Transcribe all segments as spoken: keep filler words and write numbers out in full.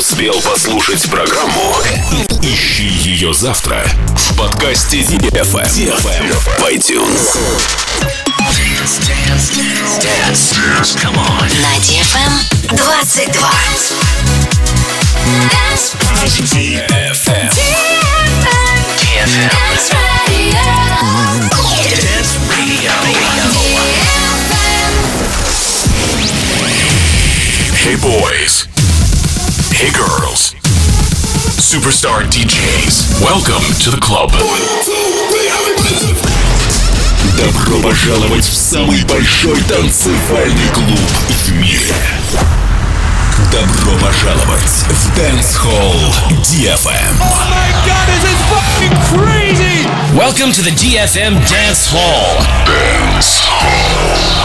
успел послушать программу, ищи ее завтра в подкасте ди эф эм в iTunes. Dance, dance, dance, dance, dance, come on. На ди эф эм двадцать два. ди эф эм. ди эф эм. Dance Radio. Hey boys. Hey girls. Superstar ди джейс. Welcome to the club. Добро пожаловать в самый большой танцевальный клуб в мире. Добро пожаловать в Dance Hall ди эф эм. Oh my God, this is fucking crazy! Welcome to the ди эф эм Dance Hall. Dance Hall.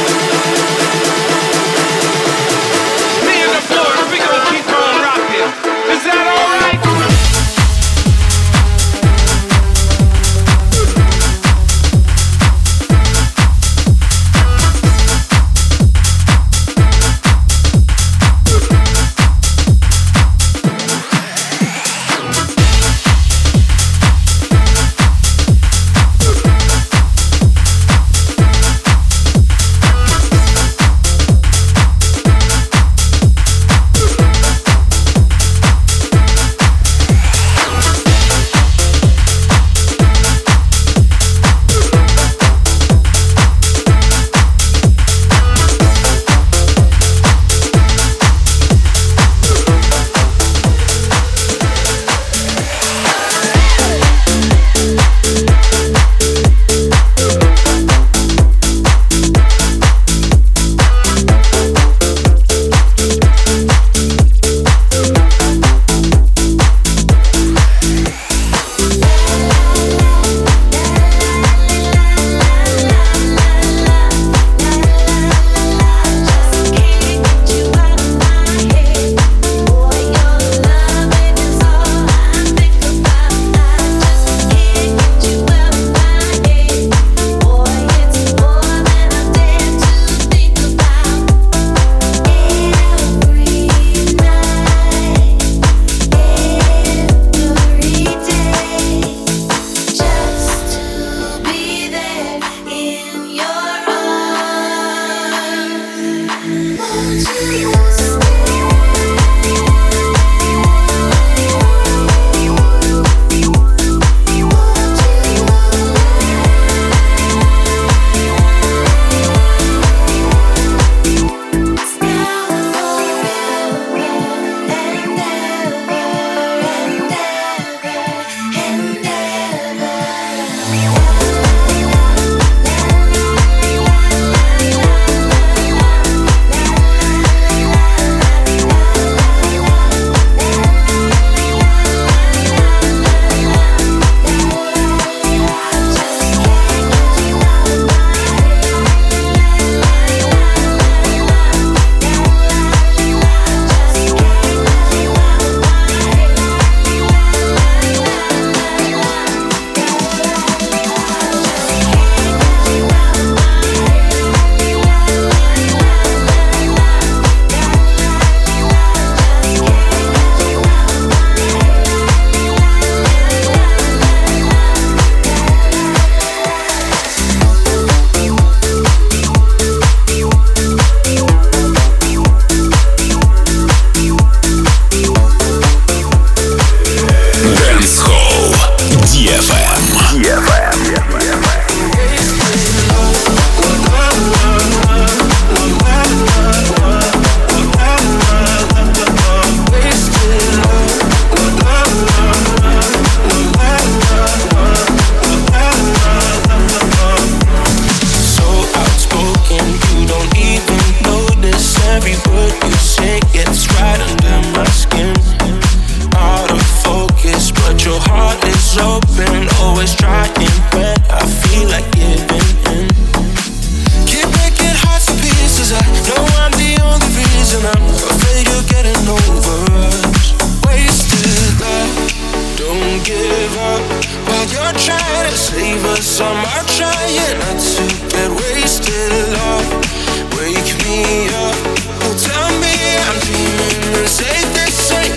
Me and the boys, we gon' keep on rocking.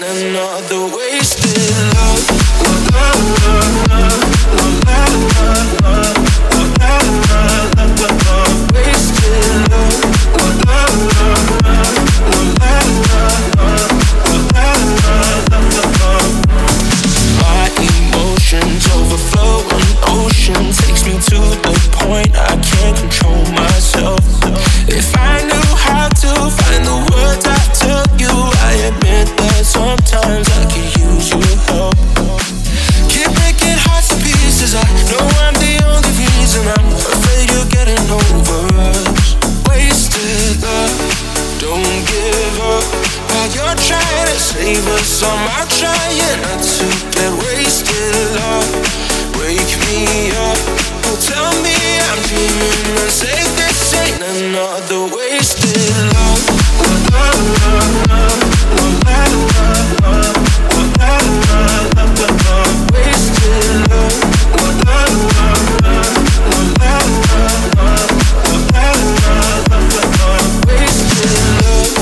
another wasted love. Love, love, love, love, love, love, love, love, love, love, love, wasted love. Love, love, love, love, love, love, love, love, love, love. My emotions overflow, an ocean takes me to the point I can't control myself. If I knew how to find the words I tell you, I admit that sometimes I could use your help. Keep breaking hearts to pieces, I know I'm the only reason. I'm afraid you're getting over us. Wasted love, don't give up. While you're trying to save us, I'm trying not to get wasted love. Wake me up, oh tell me I'm dreaming and say this ain't another wasted love. Love, love, love, love, love, love, love, love, love, love, love, wasted love. Love, love, love, love, love, love, love, love, love, love, love, wasted love.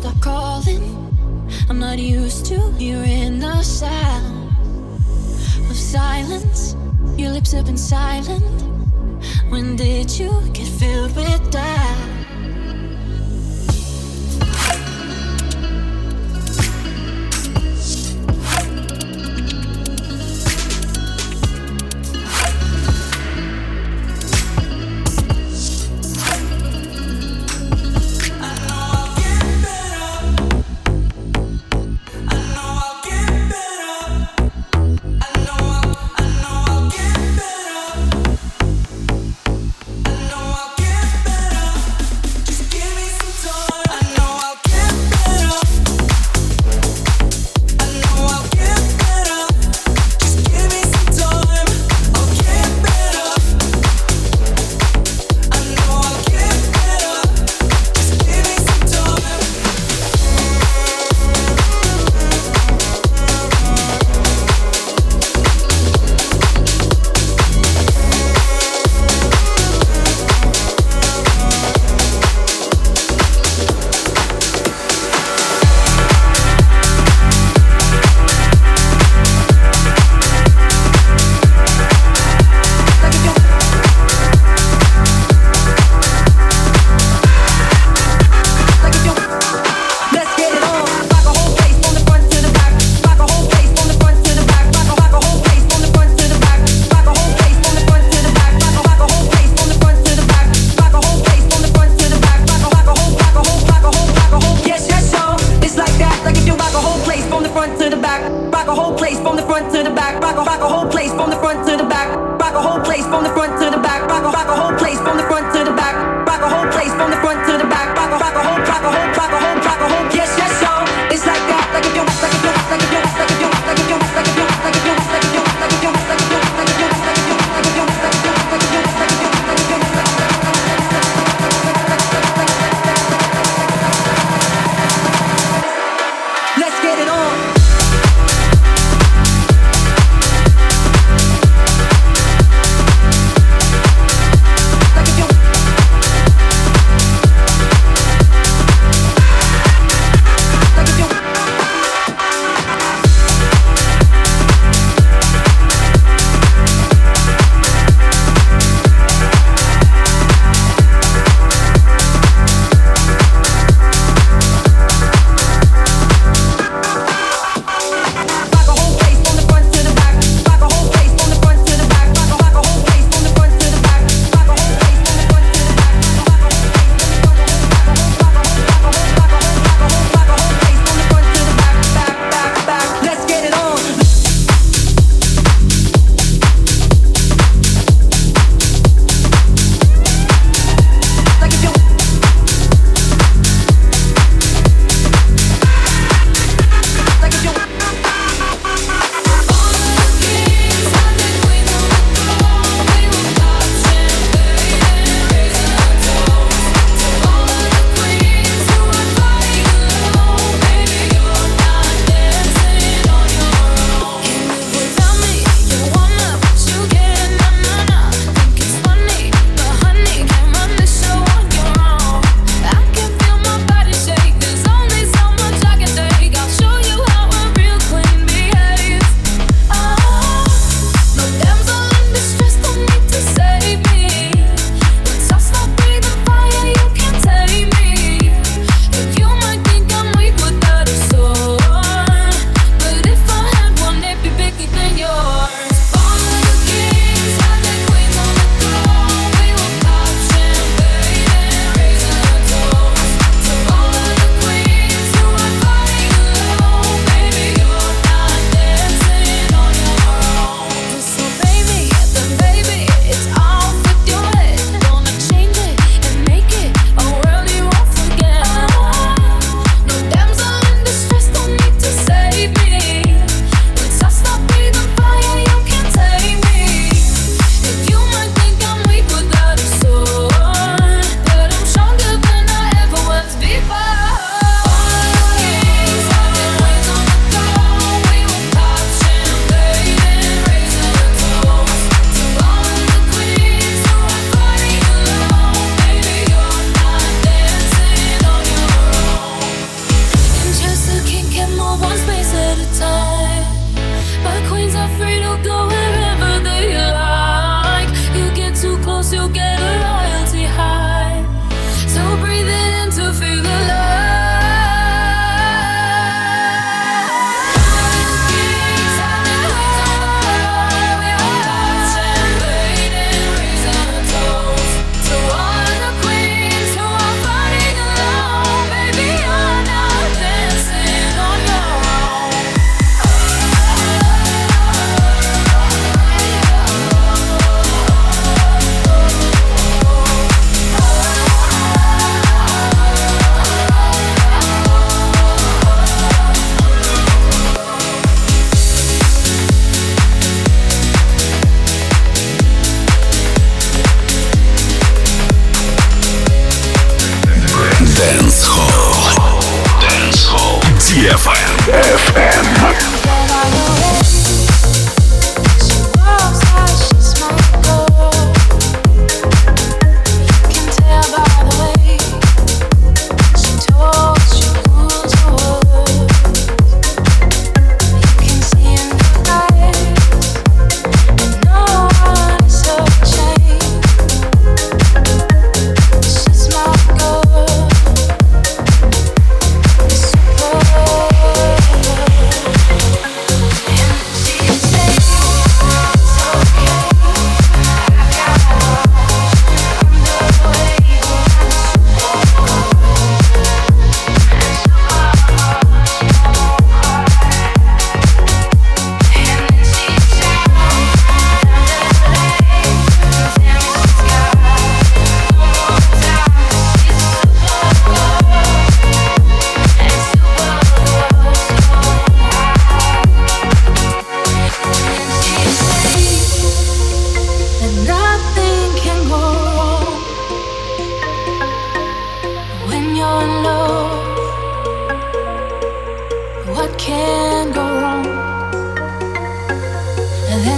stop calling. I'm not used to hearing the sound of silence. Your lips have been silent. When did you get filled with doubt? I know I'll get better.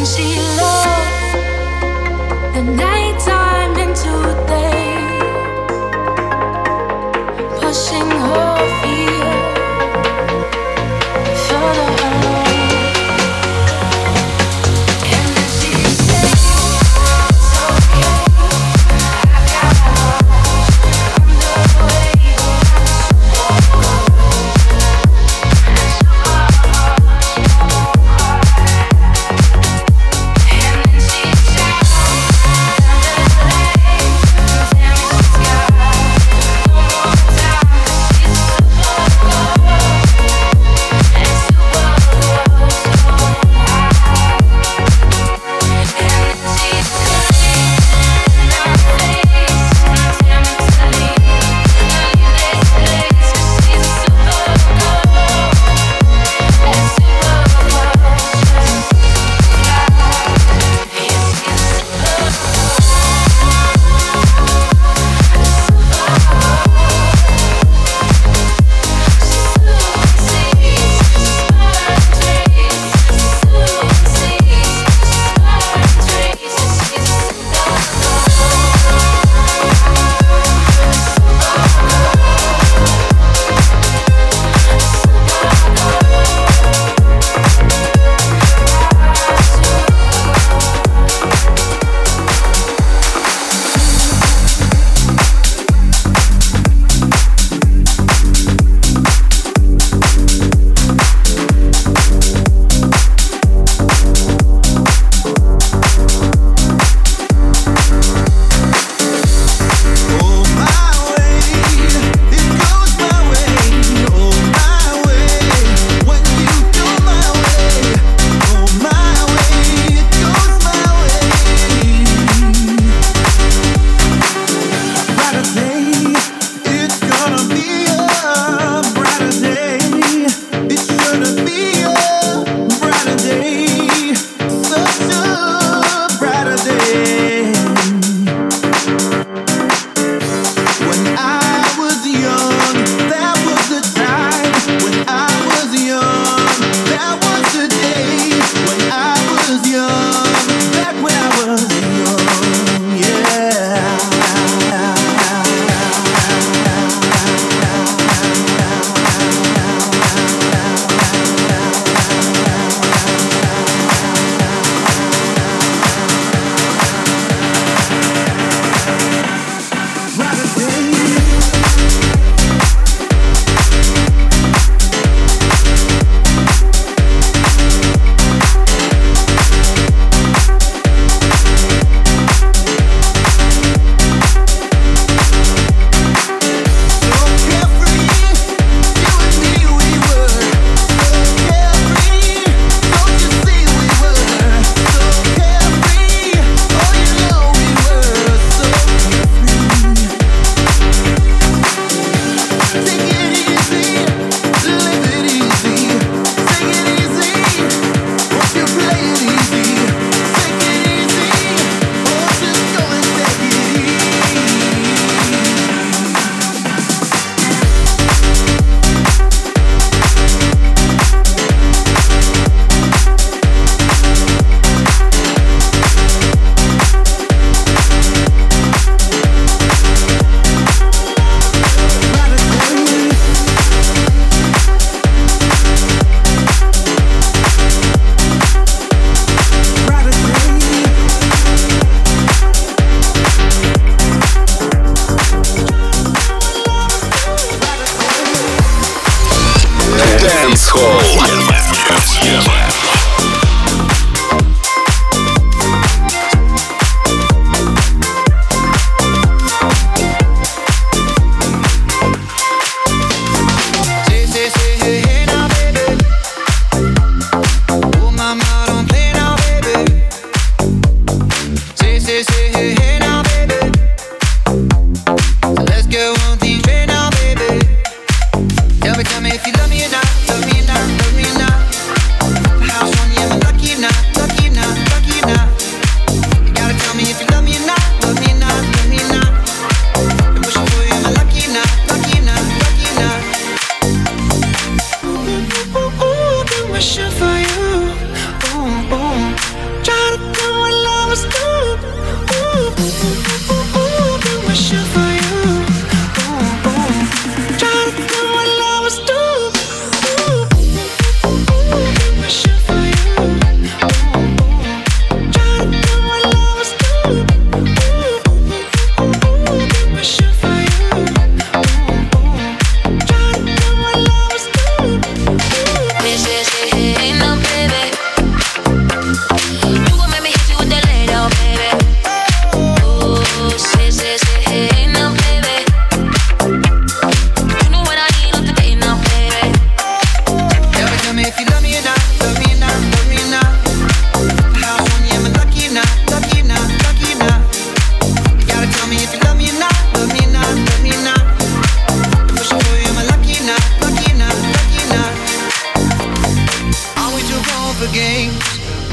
Tell me, tell me if you love me or not, love me or not, love me or not.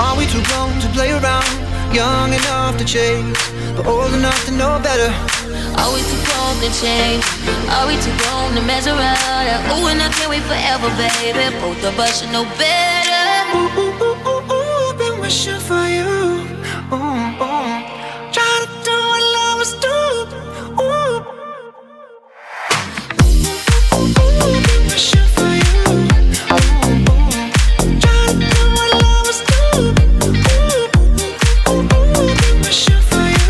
Are we too grown to play around? Young enough to chase, but old enough to know better. Are we too grown to change? Are we too grown to mess around? Ooh, and I can't wait forever, baby. Both of us should know better. Ooh, ooh, ooh, ooh, ooh, been wishing for you. Ooh, ooh. Try to do what lovers do. Ooh, ooh, ooh, been wishing for you. Ooh, ooh. Try to do what lovers do. Ooh, ooh, ooh, been wishing for you.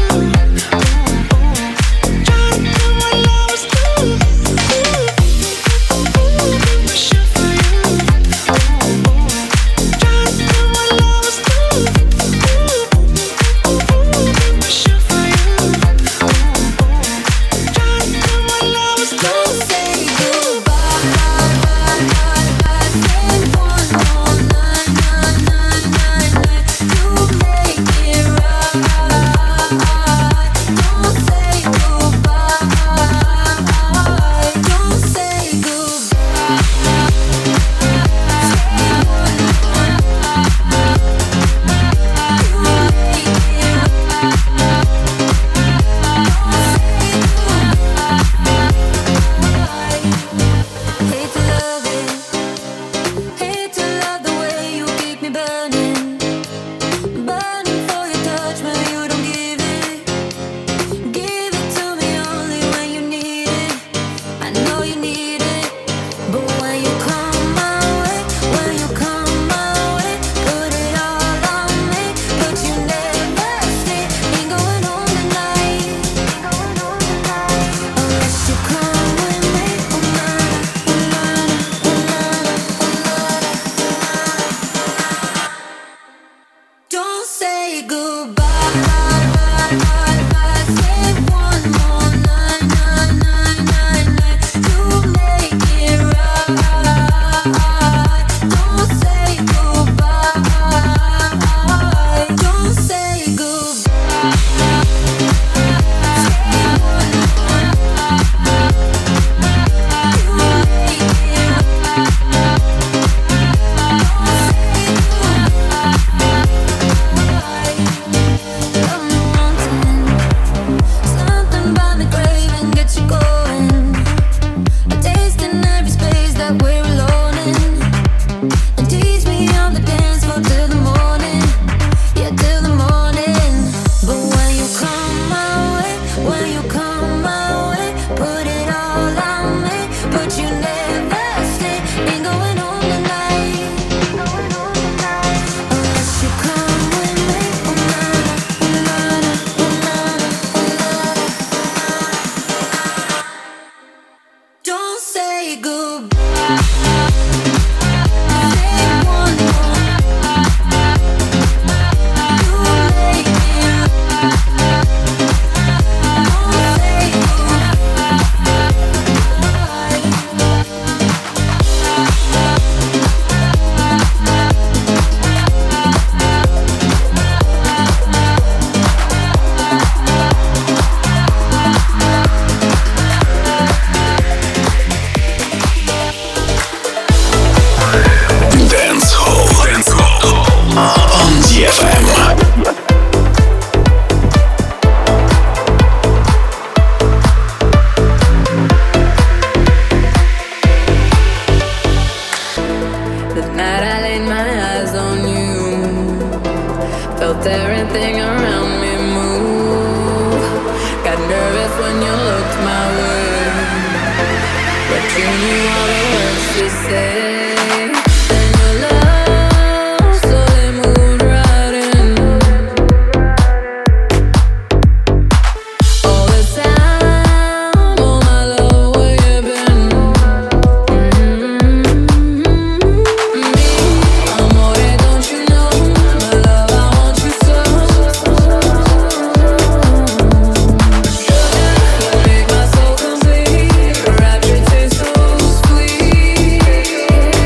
Complete, rapture tastes so sweet.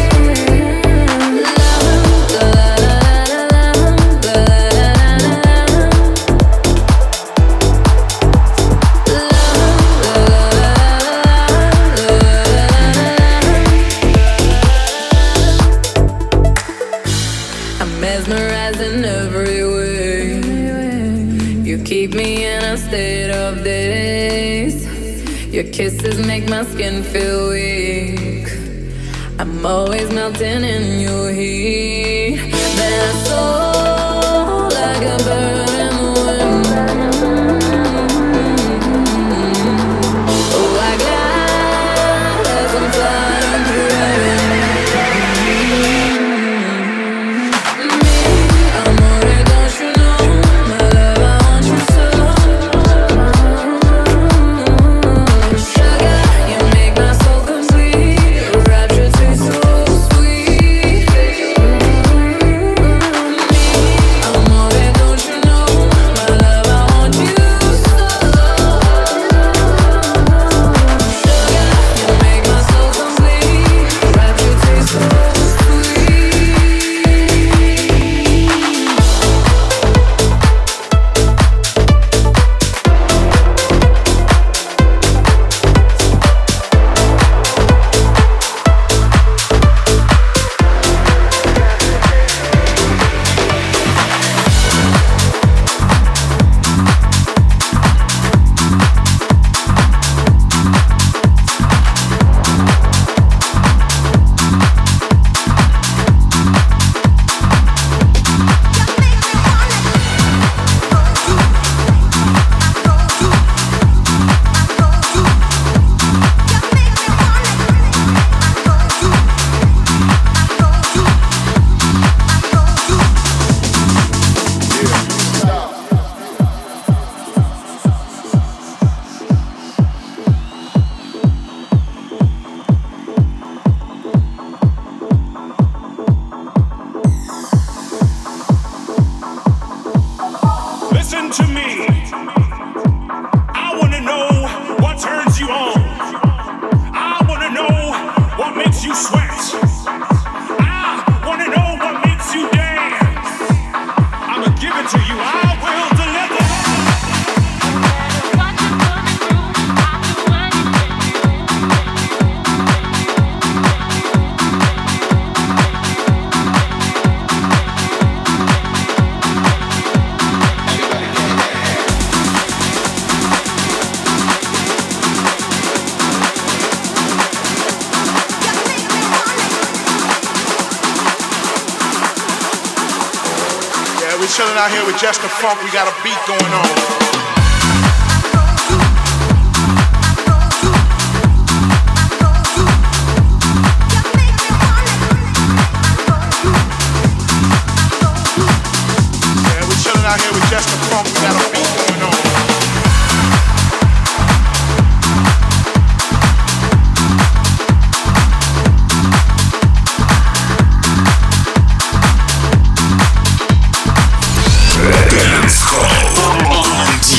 Your kisses make my skin feel weak. I'm always melting in your heat. Then I soar like a bird in the wind. Oh, I glide as I'm flying through heaven. Me, amore, don't you know? My love, I want you so. Sugar, you make my soul complete. Rapture tastes so sweet. Me, amore, don't you know? My love, I want you so. Sugar, you make my soul complete. Rapture tastes so sweet. Listen to me. I wanna know what turns you on. I wanna know what makes you sweat. I wanna know what makes you dance. I'ma give it to you. I will deliver. We're chilling out here with Just the Funk. We got a beat going on. Out here with Just the Funk, we got a beat going on. Dance Hall on ди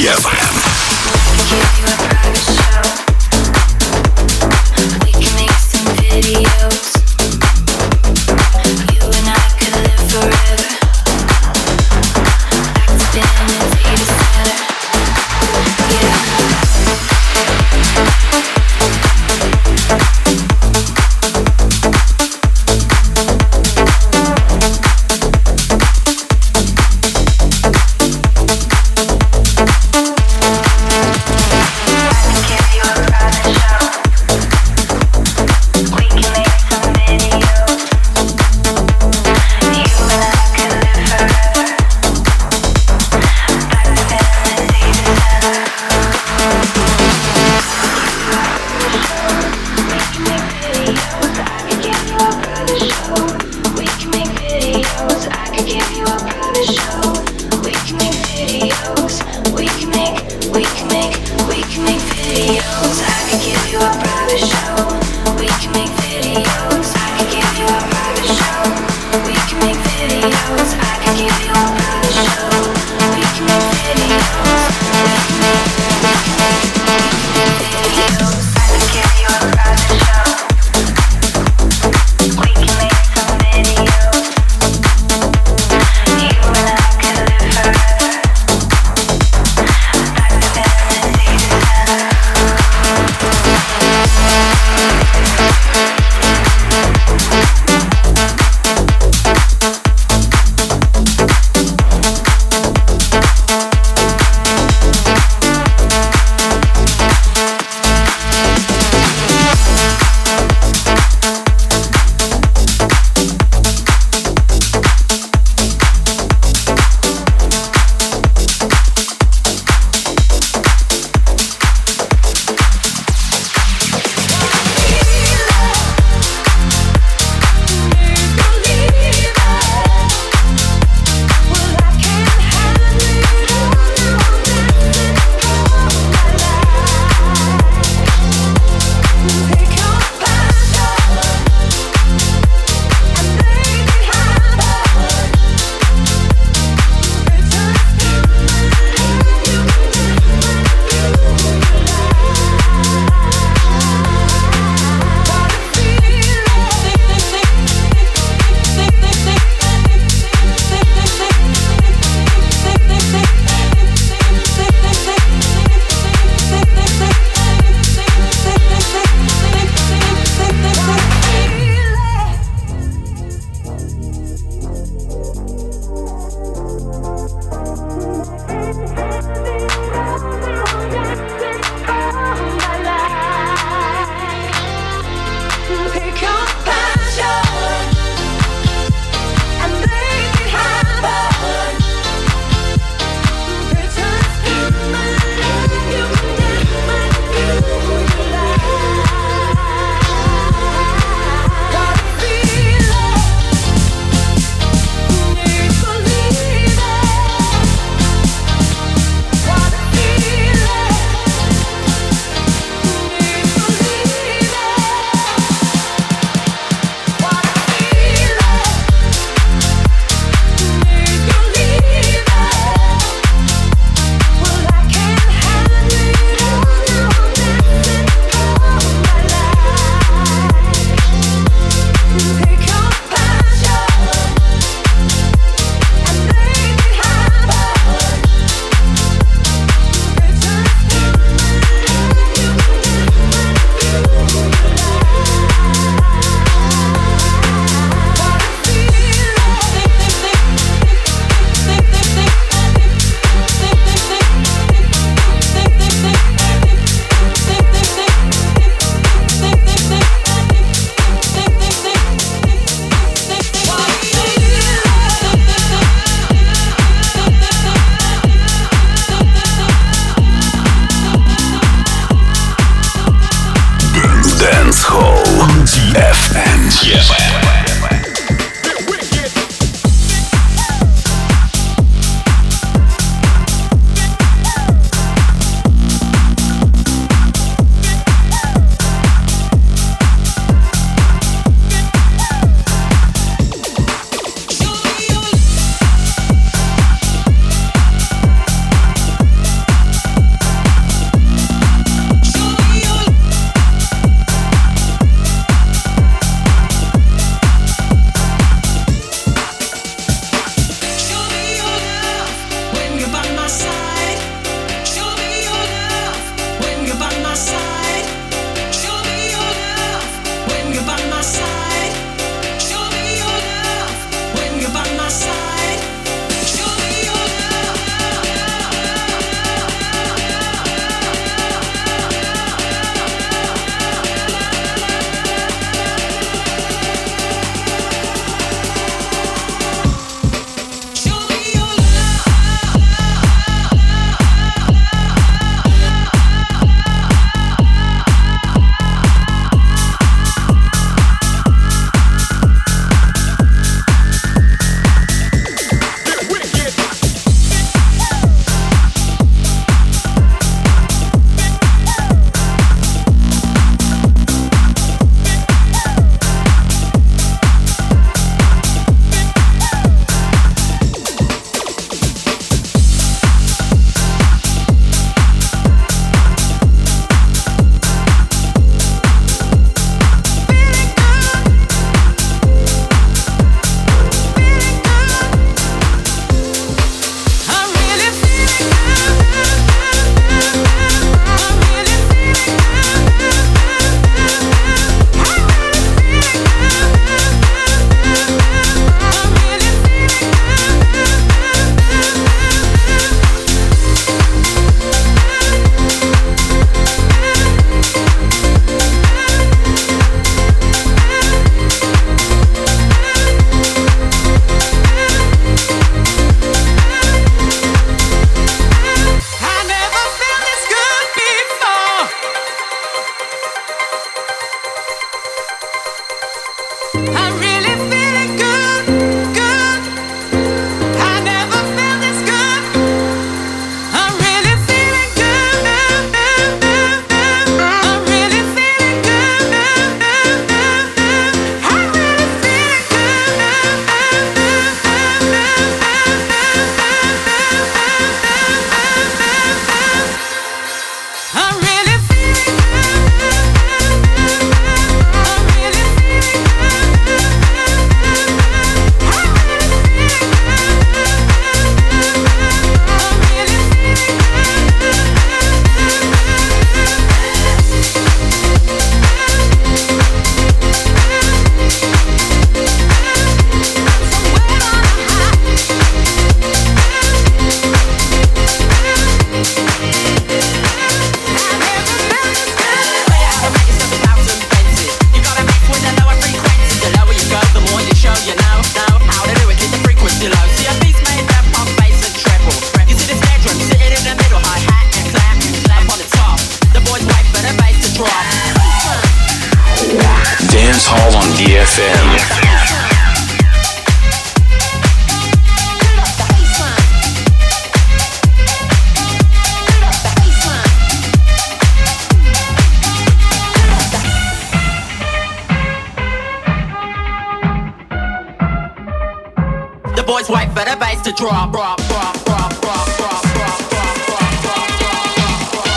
boys wait for the bass to drop, drop, drop, drop, drop, drop, drop, drop, drop, drop, drop.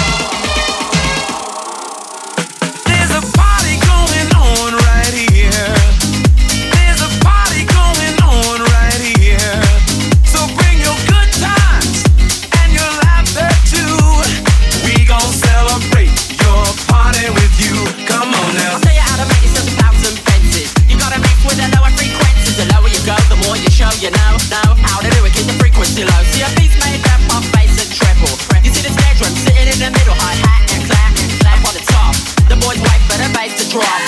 There's a party going on right here. There's a party going on right here. So bring your good times and your laughter too. We gon' celebrate your party with you. Come on now. I'll tell you how to make yourself a thousand fences. You gotta mix with the lower frequencies. The lower you go, the more you show. You know, know how to do it. Keep the frequency low. See a beat's made up of bass and treble. You see the snare drum sitting in the middle, hi hat and clap and clap on the top. The boys wait for the bass to drop.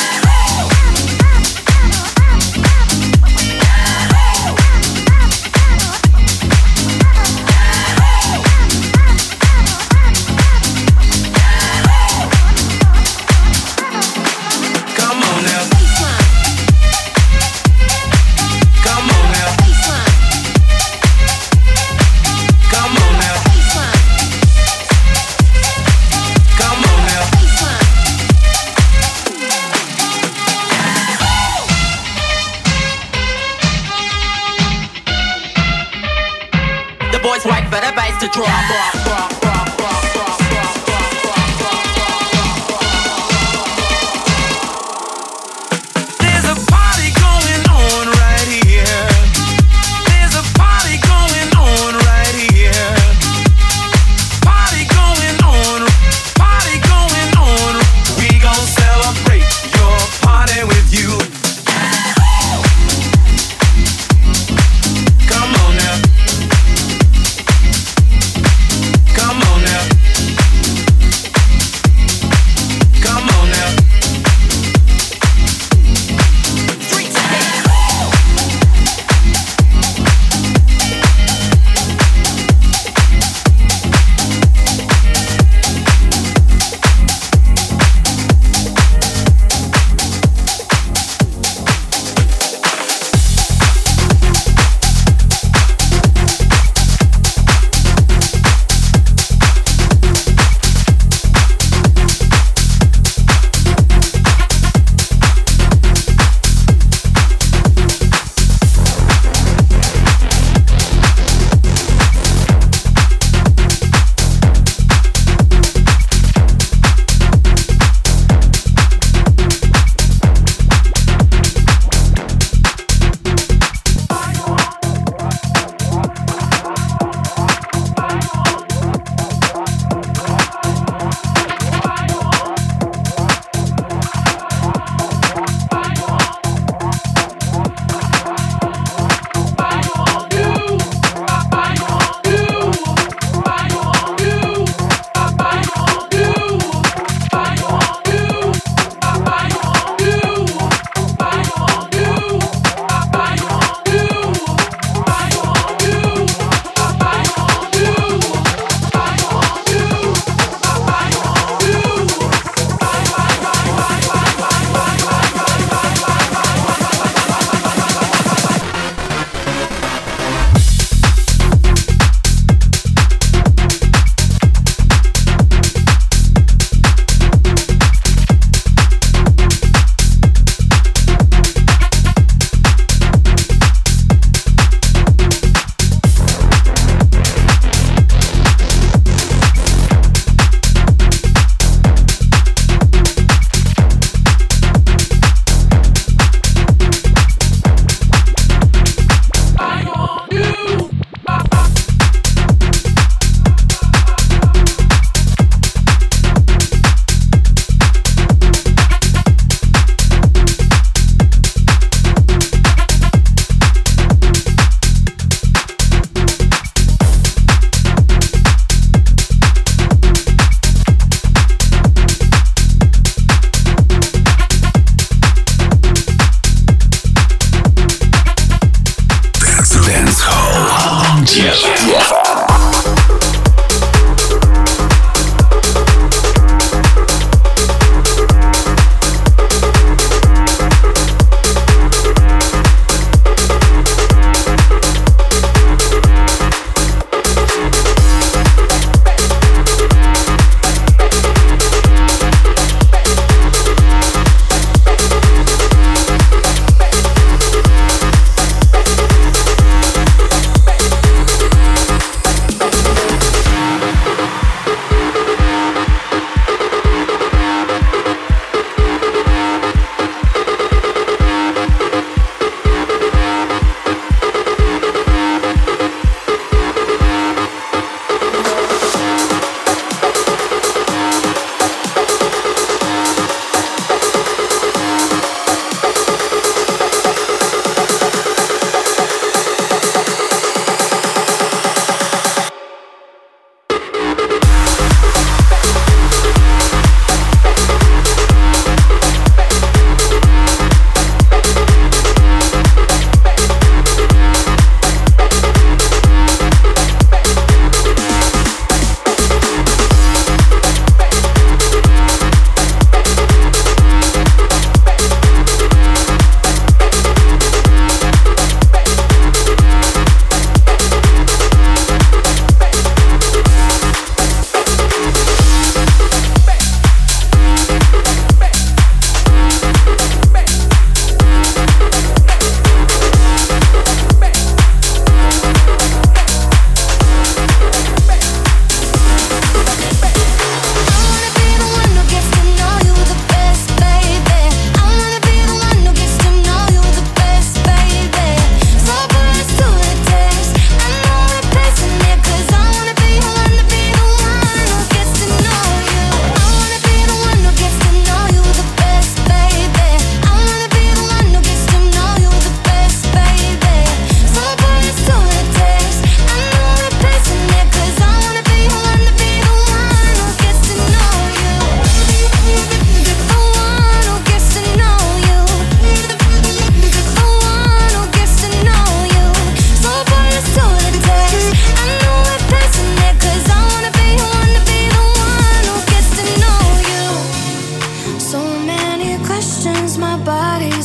Boys wait for the bass to drop, drop, drop, drop, drop, drop, drop, drop, drop, drop. There's a party going on right here. There's a party going on right here. Party going on, party going on. We gon' celebrate your party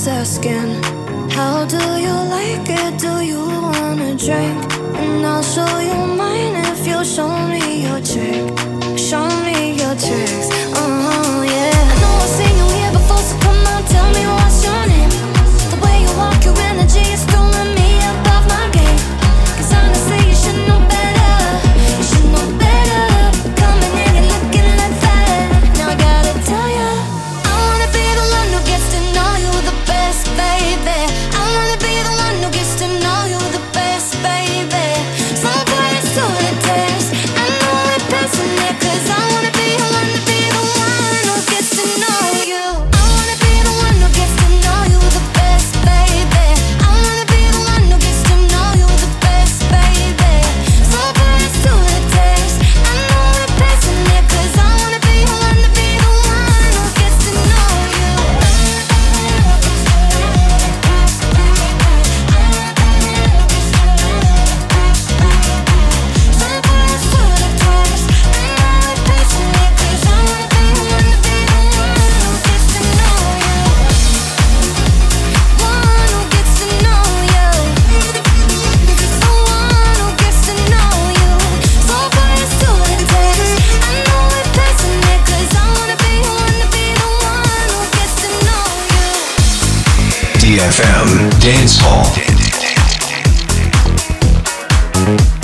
just asking, how do you like it? Do you wanna drink? And I'll show you mine if you show me your trick. Show me your tricks, oh yeah. I know I've seen you here before, so come on, tell me what's your name. The way you walk, your energy is throwing me above my game. Cause honestly, you should know better. You should know better. Coming in and looking like that. Now I gotta tell ya, I wanna be the one who gets to know you the best, baby. I wanna be the one who gets to know you the best, baby. So put us to the test. I know we're passing it, cause I wanna be, I wanna be the one who gets to know you. I wanna be the one who gets to know you the best, baby. I wanna be the one who gets to know you the best, baby. So put us to the test. I know we're passing it, cause I wanna be, I wanna be the one who gets to know you. ди эф эм Dance Hall.